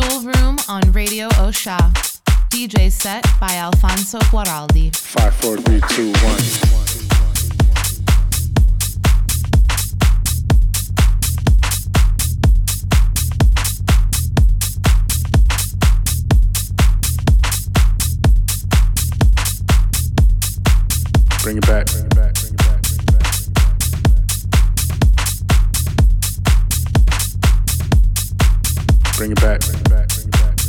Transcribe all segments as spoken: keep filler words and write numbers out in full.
Jewel Room on Radio Osha. D J set by Alfonso Guaraldi. Five, four, three, two, one. Bring it back. Bring it back. Bring it back. Bring it back. Bring it back. Bring it back.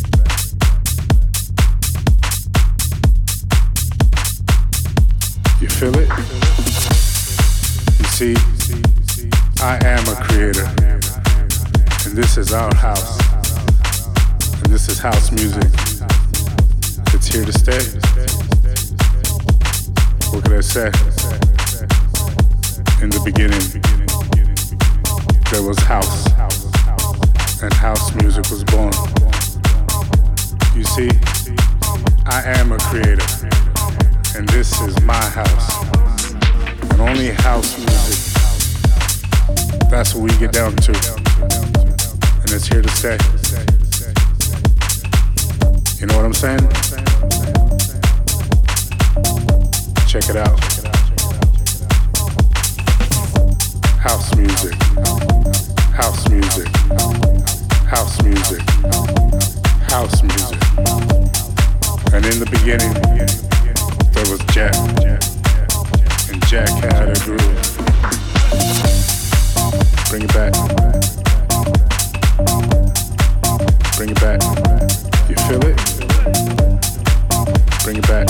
You feel it? You see, I am a creator, and this is our house, and this is house music. It's here to stay. What can I say? In the beginning, there was house, and house music was born. You see, I am a creator, and this is my house, and only house music. That's what we get down to, and it's here to stay. You know what I'm saying? Check it out. House music. House music. House music. House music. And in the beginning, there was Jack. And Jack had a groove. Bring it back. Bring it back. You feel it? Bring it back.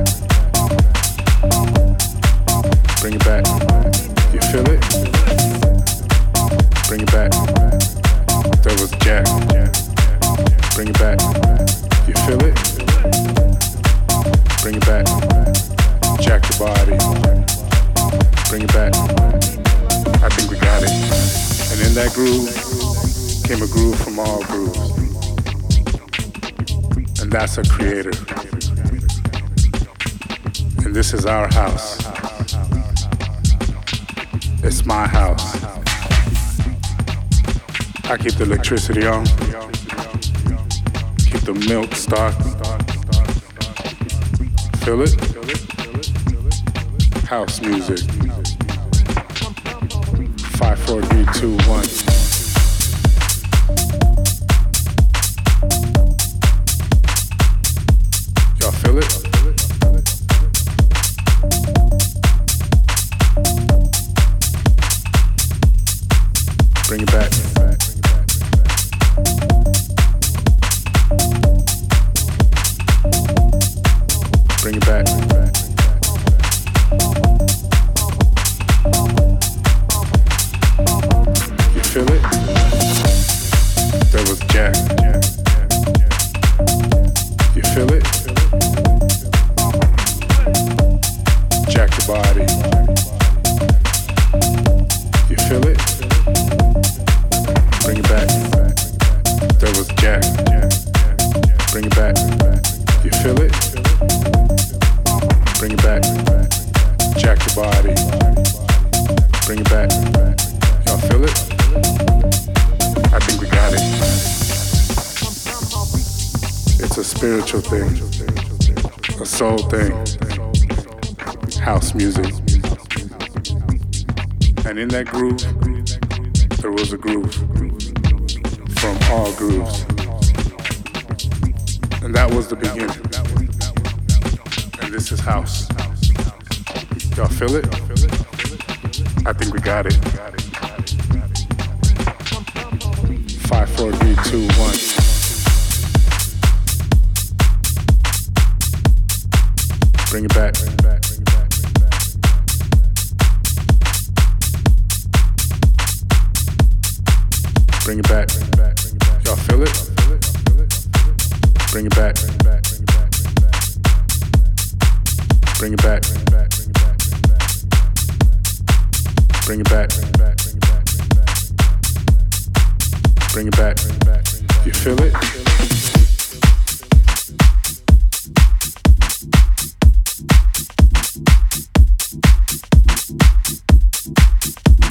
Bring it back. You feel it? Bring it back. There was Jack. Bring it back. You feel it? Bring it back. Jack the body. Bring it back. I think we got it. And in that groove came a groove from all grooves. And that's a creator. And this is our house. It's my house. I keep the electricity on. Keep the milk stocked. Feel it? House music. Five, four, three, two, one. Y'all feel it? Bring it back. Bring it back. You feel it? There was Jack. You feel it? Jack the body. You feel it? Bring it back. There was Jack. Bring it back. You feel it? Bring it back. Jack the body. Bring it back. Y'all feel it? I think we got it. It's a spiritual thing. A soul thing. House music. And in that groove, there was a groove from all grooves. And that was the beginning. And this is house. Y'all feel it? I think we got it. Five, four, three, two, one. Bring it back. Bring it back. Y'all feel it? Bring it back. Bring it back. Bring it back. Bring it back. You feel it?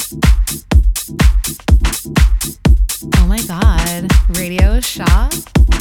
Oh my God, Radio Shaw?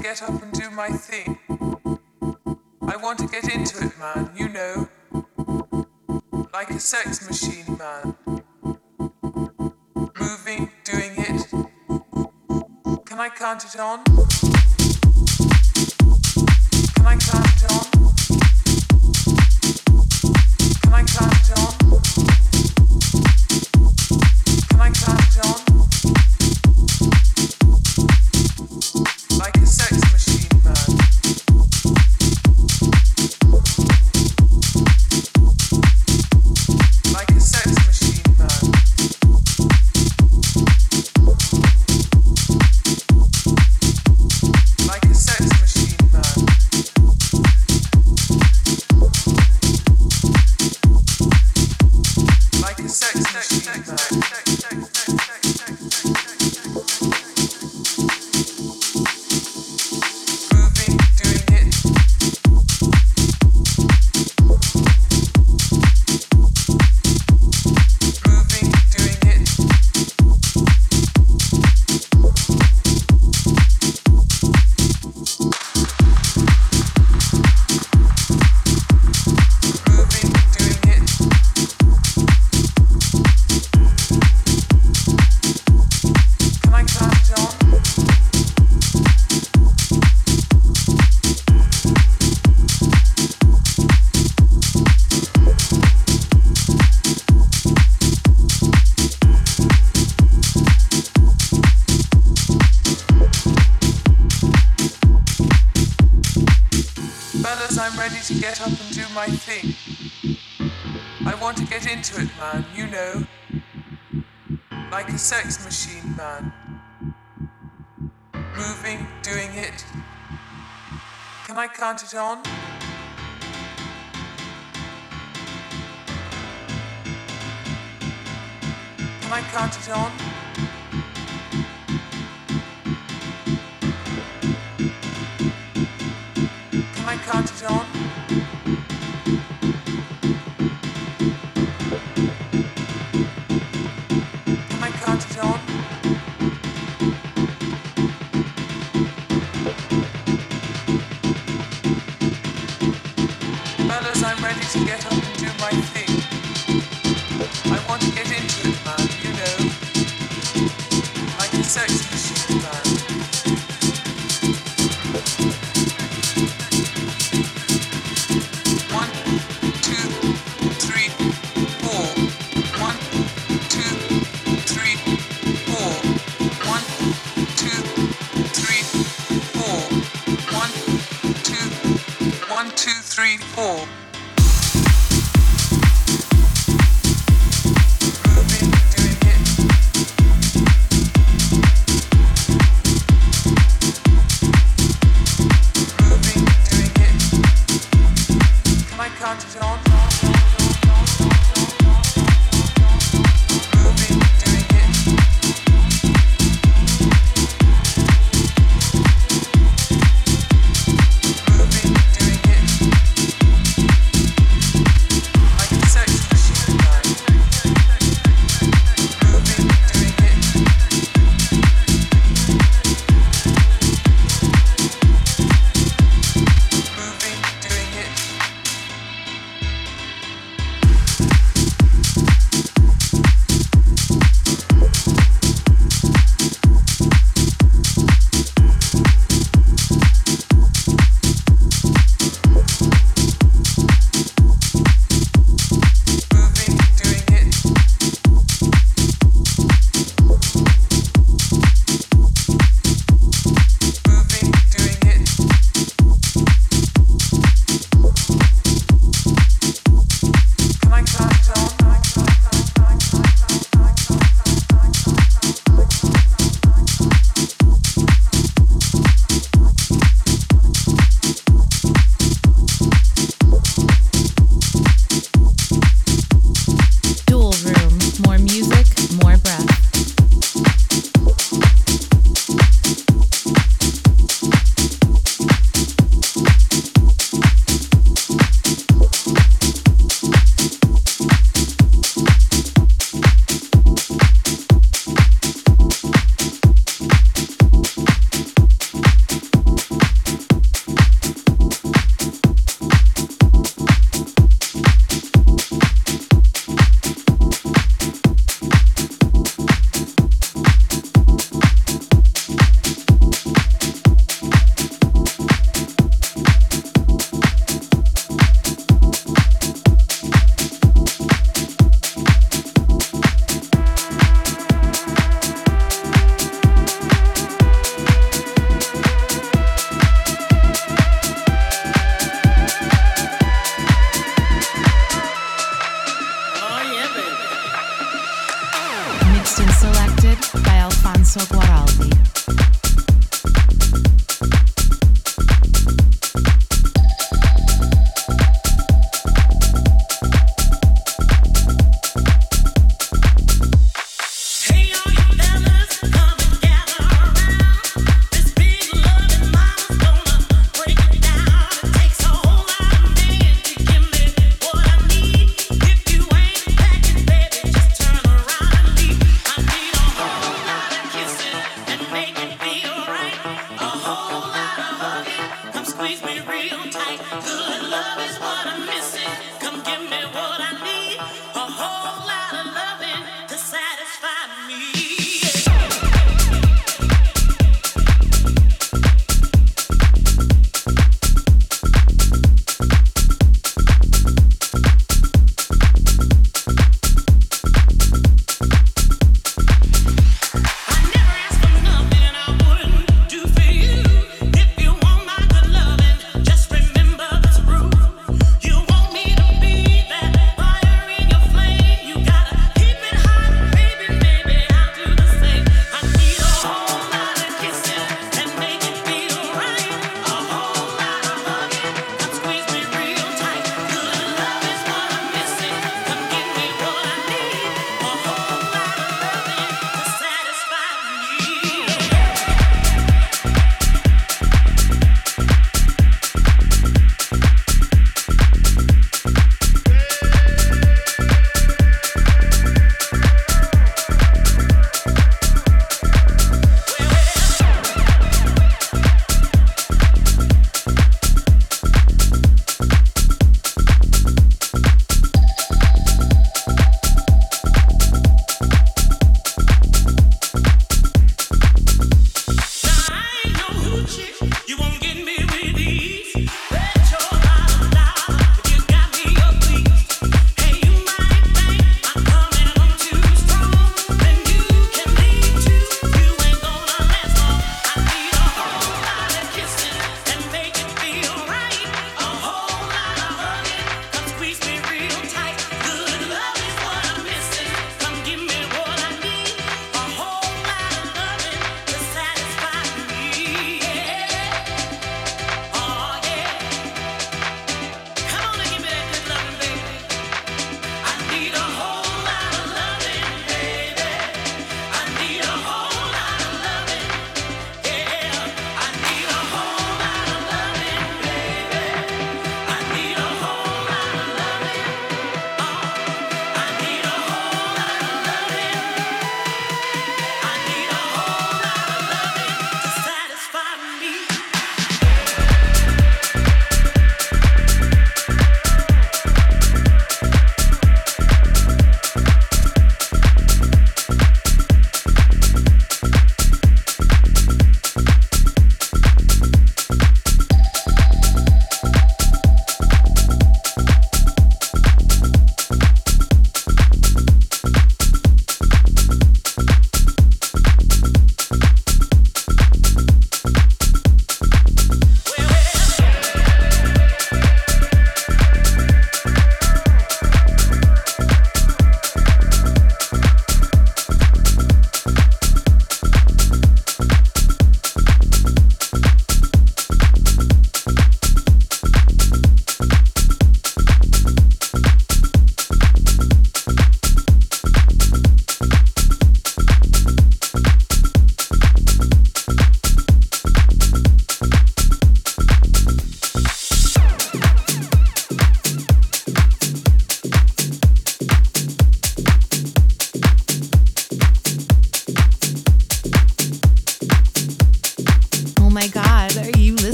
get up and do my thing. I want to get into it, man, you know. Like a sex machine, man. Moving, doing it. Can I count it on? Can I count it on? Can I count it on? Can I count it on? Like a sex machine, man. Like a sex machine, man. Like a sex machine, man. Like a sex machine, man. Moving, doing it. Moving, doing it. Moving, doing it. Can I count it on? Fellas, I'm ready to get up and do my thing. I want to get into it, man, you know. Like a sex machine, man. Moving, doing it. Can I count it on? Can I count it on? Can I count it on? Can I count it on? Fellas, I'm ready to get up and do my thing. I want to get into it, man, you know. Like a sex machine, man. One, two, three, four. One, two, three, four. One, two, three, four. One, two, one, two, three, four. Moving, doing it. Moving, doing it. Can I count it on? Moving, doing it. Moving, doing it. You want me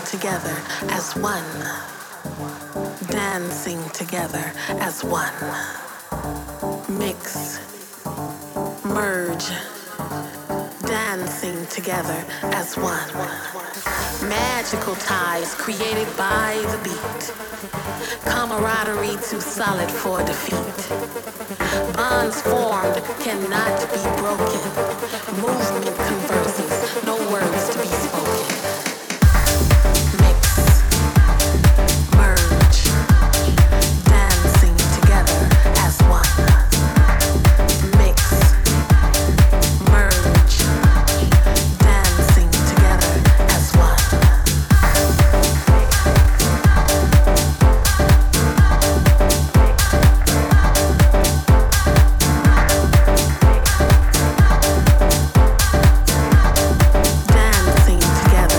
together as one. Dancing together as one. Mix, merge, dancing together as one. Magical ties created by the beat. Camaraderie too solid for defeat. Bonds formed cannot be broken. Movement converses, no words to be spoken. Together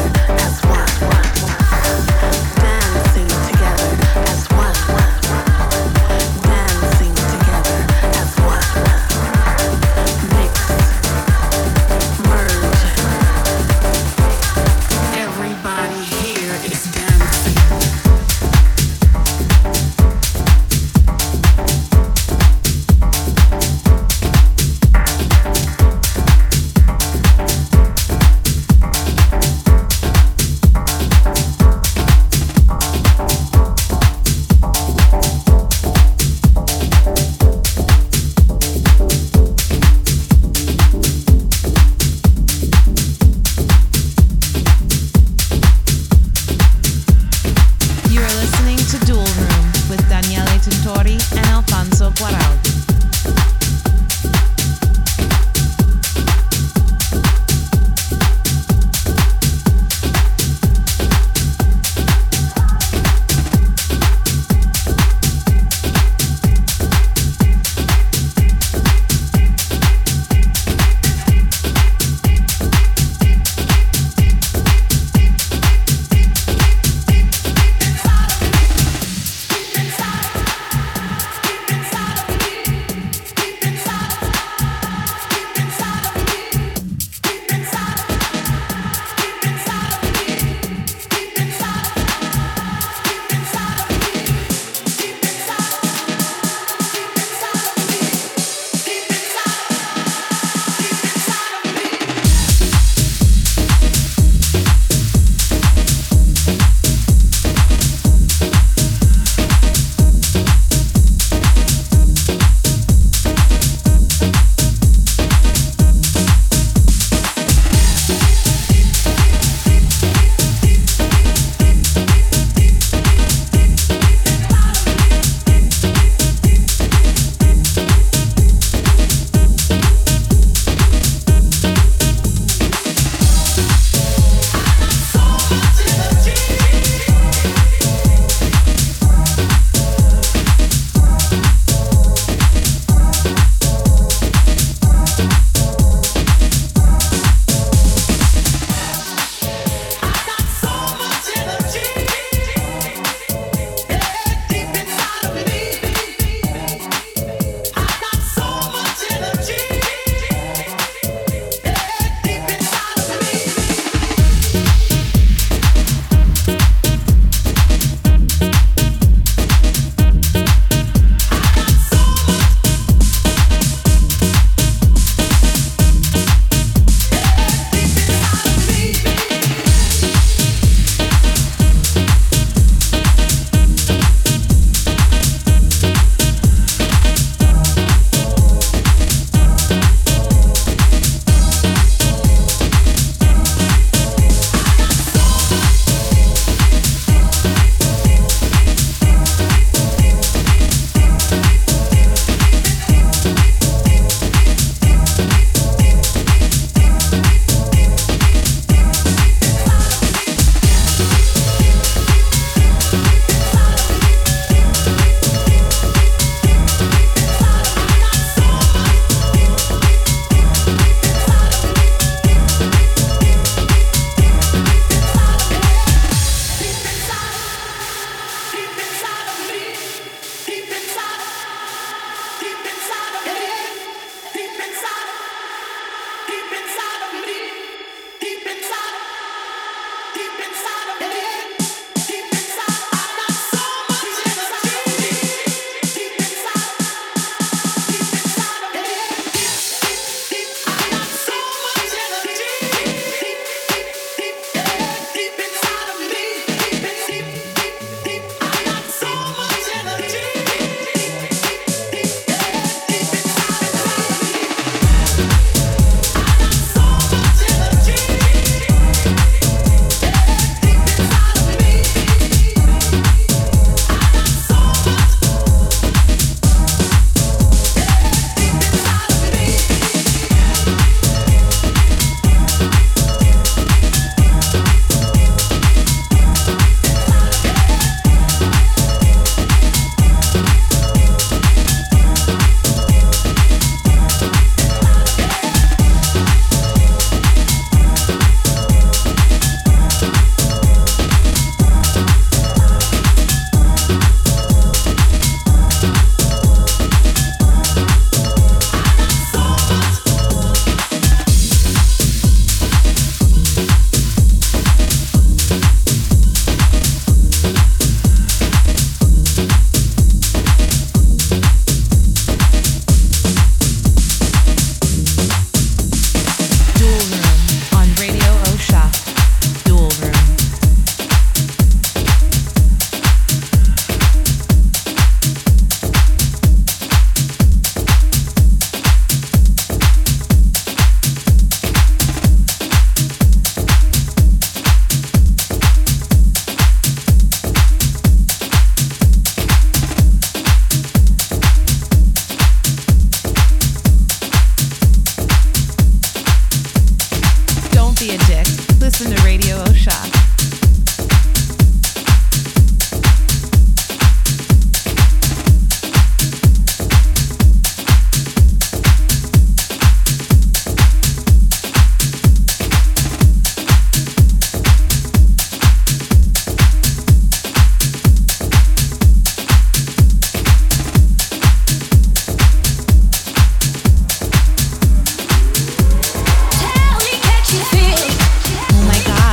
listen to Radio Osha. Feel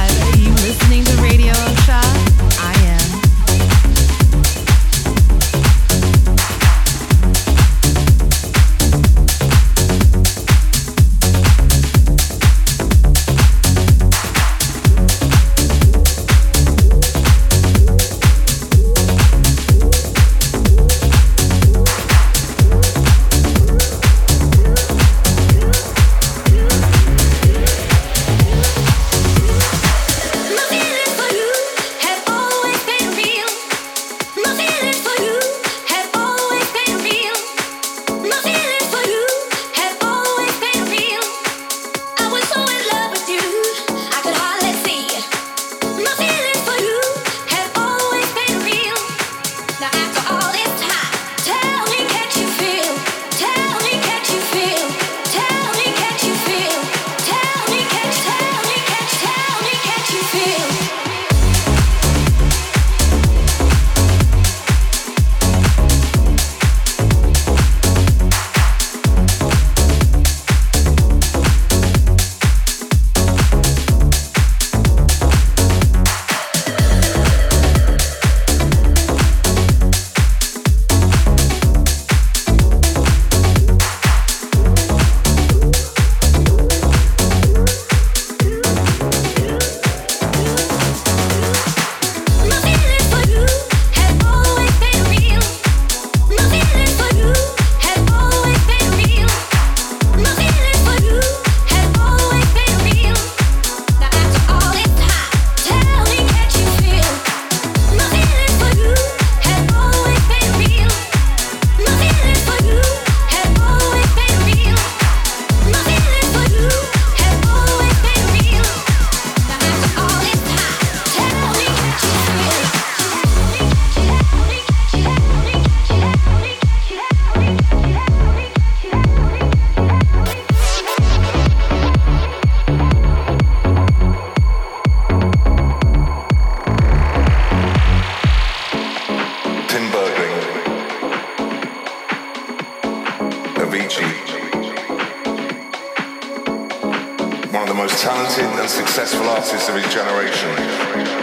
most talented and successful artists of his generation.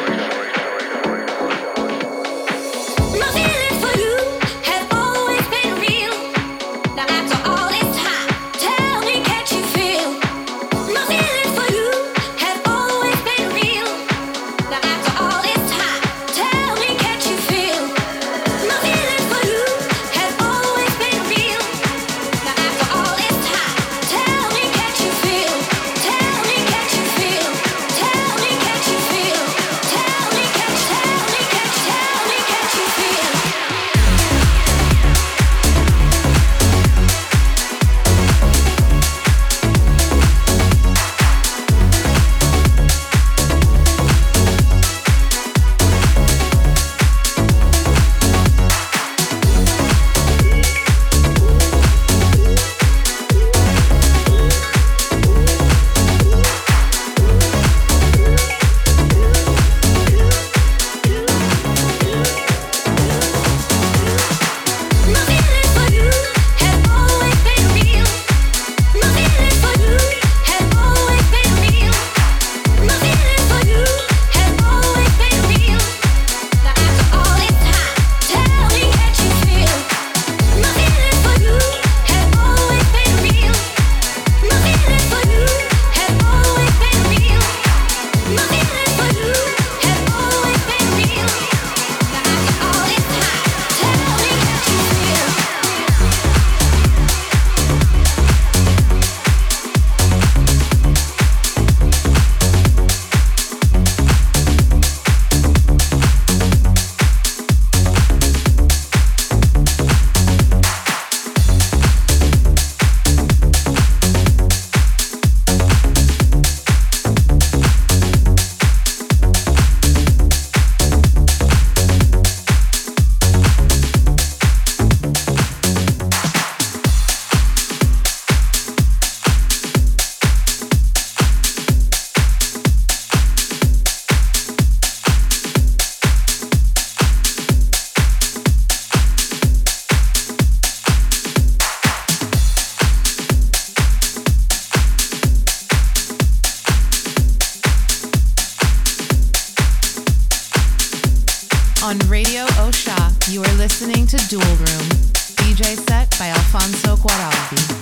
On Radio Osha, you are listening to Dual Room, D J set by Alfonso Guaraldi.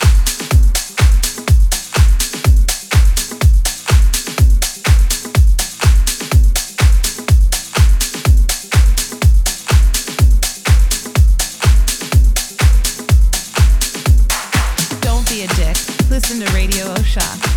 Listen to Radio Osha.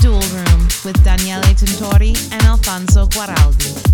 Dual Room with Daniele Tintori and Alfonso Guaraldi.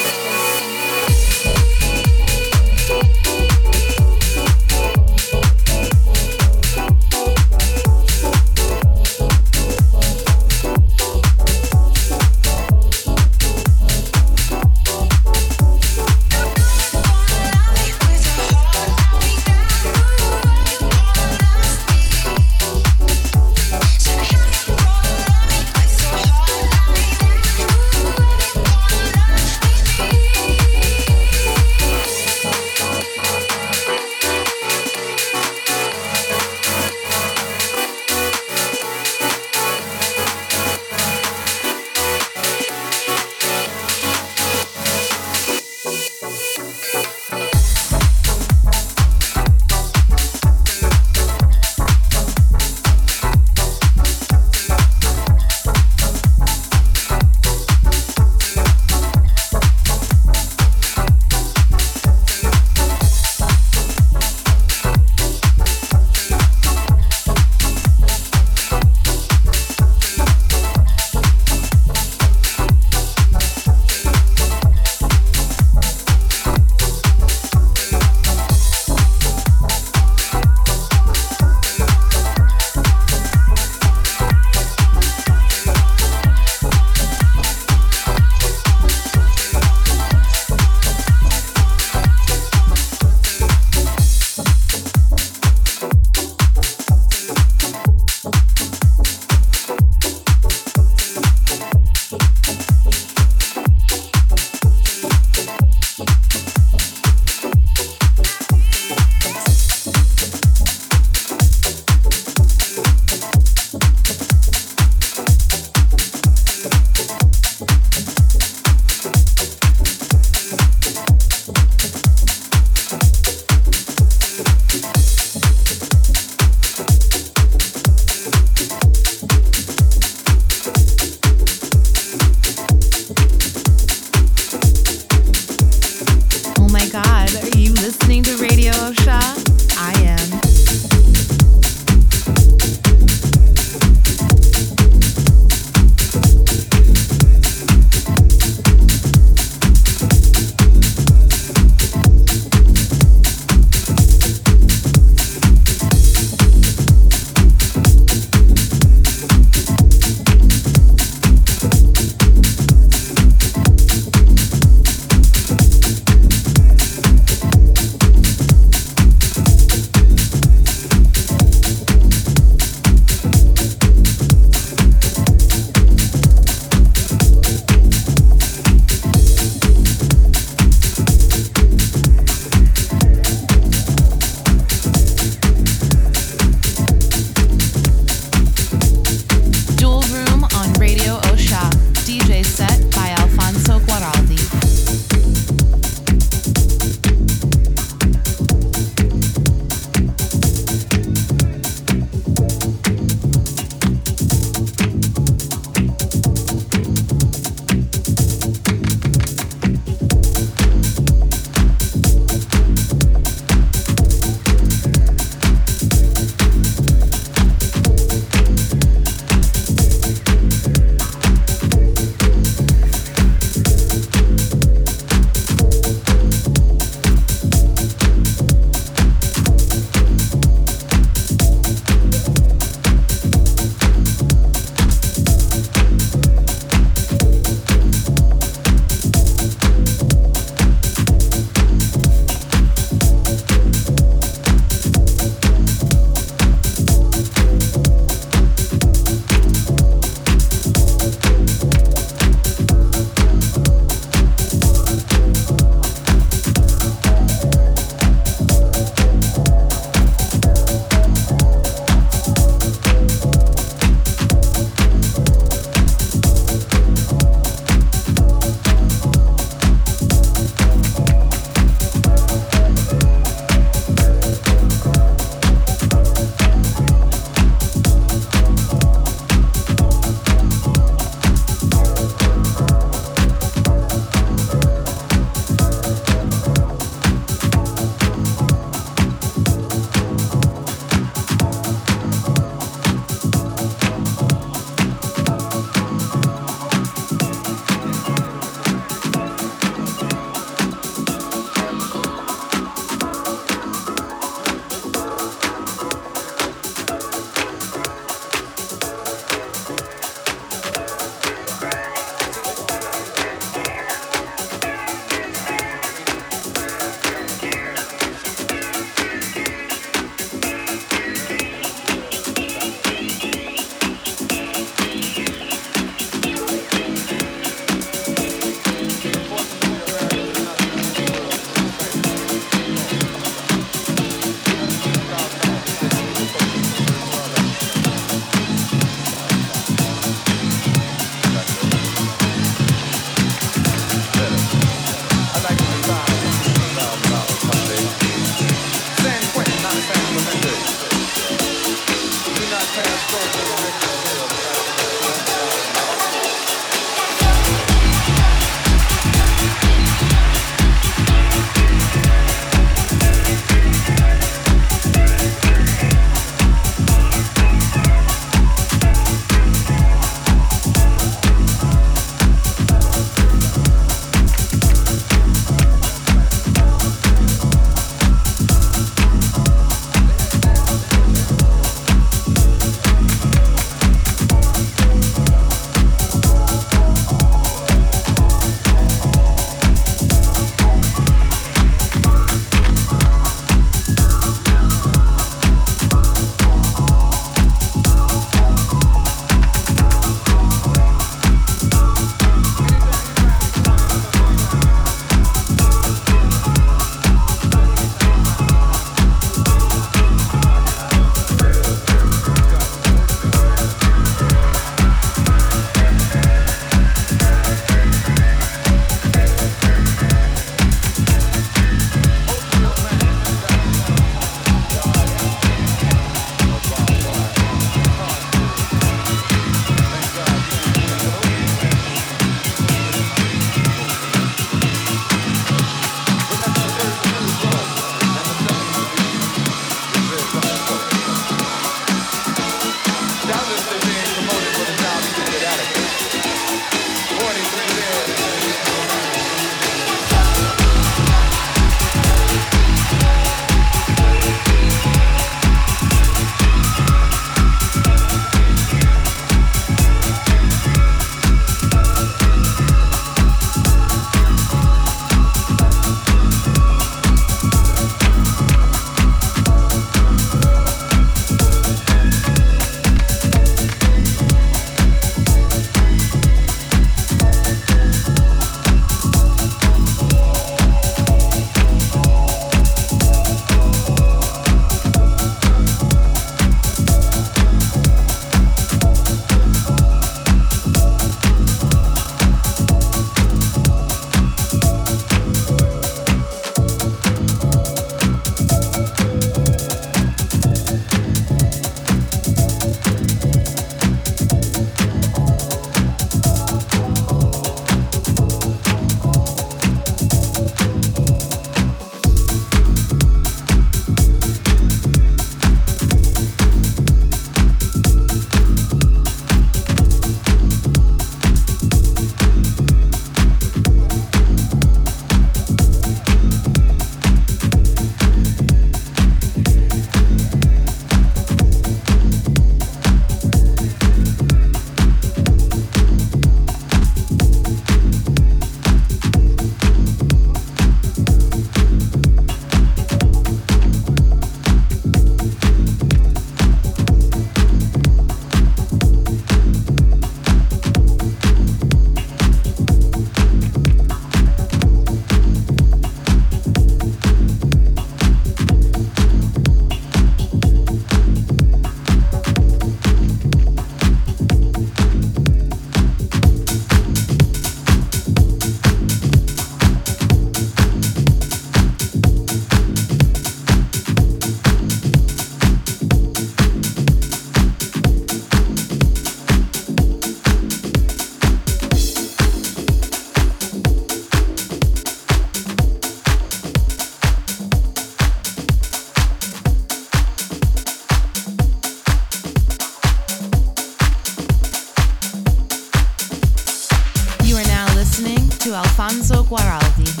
Alfonso Guaraldi.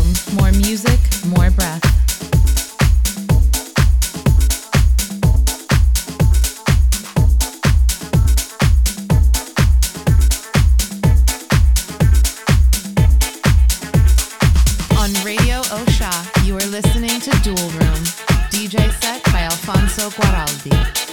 Room. More music, more breath. On Radio Osha, you are listening to Dual Room. D J set by Alfonso Guaraldi.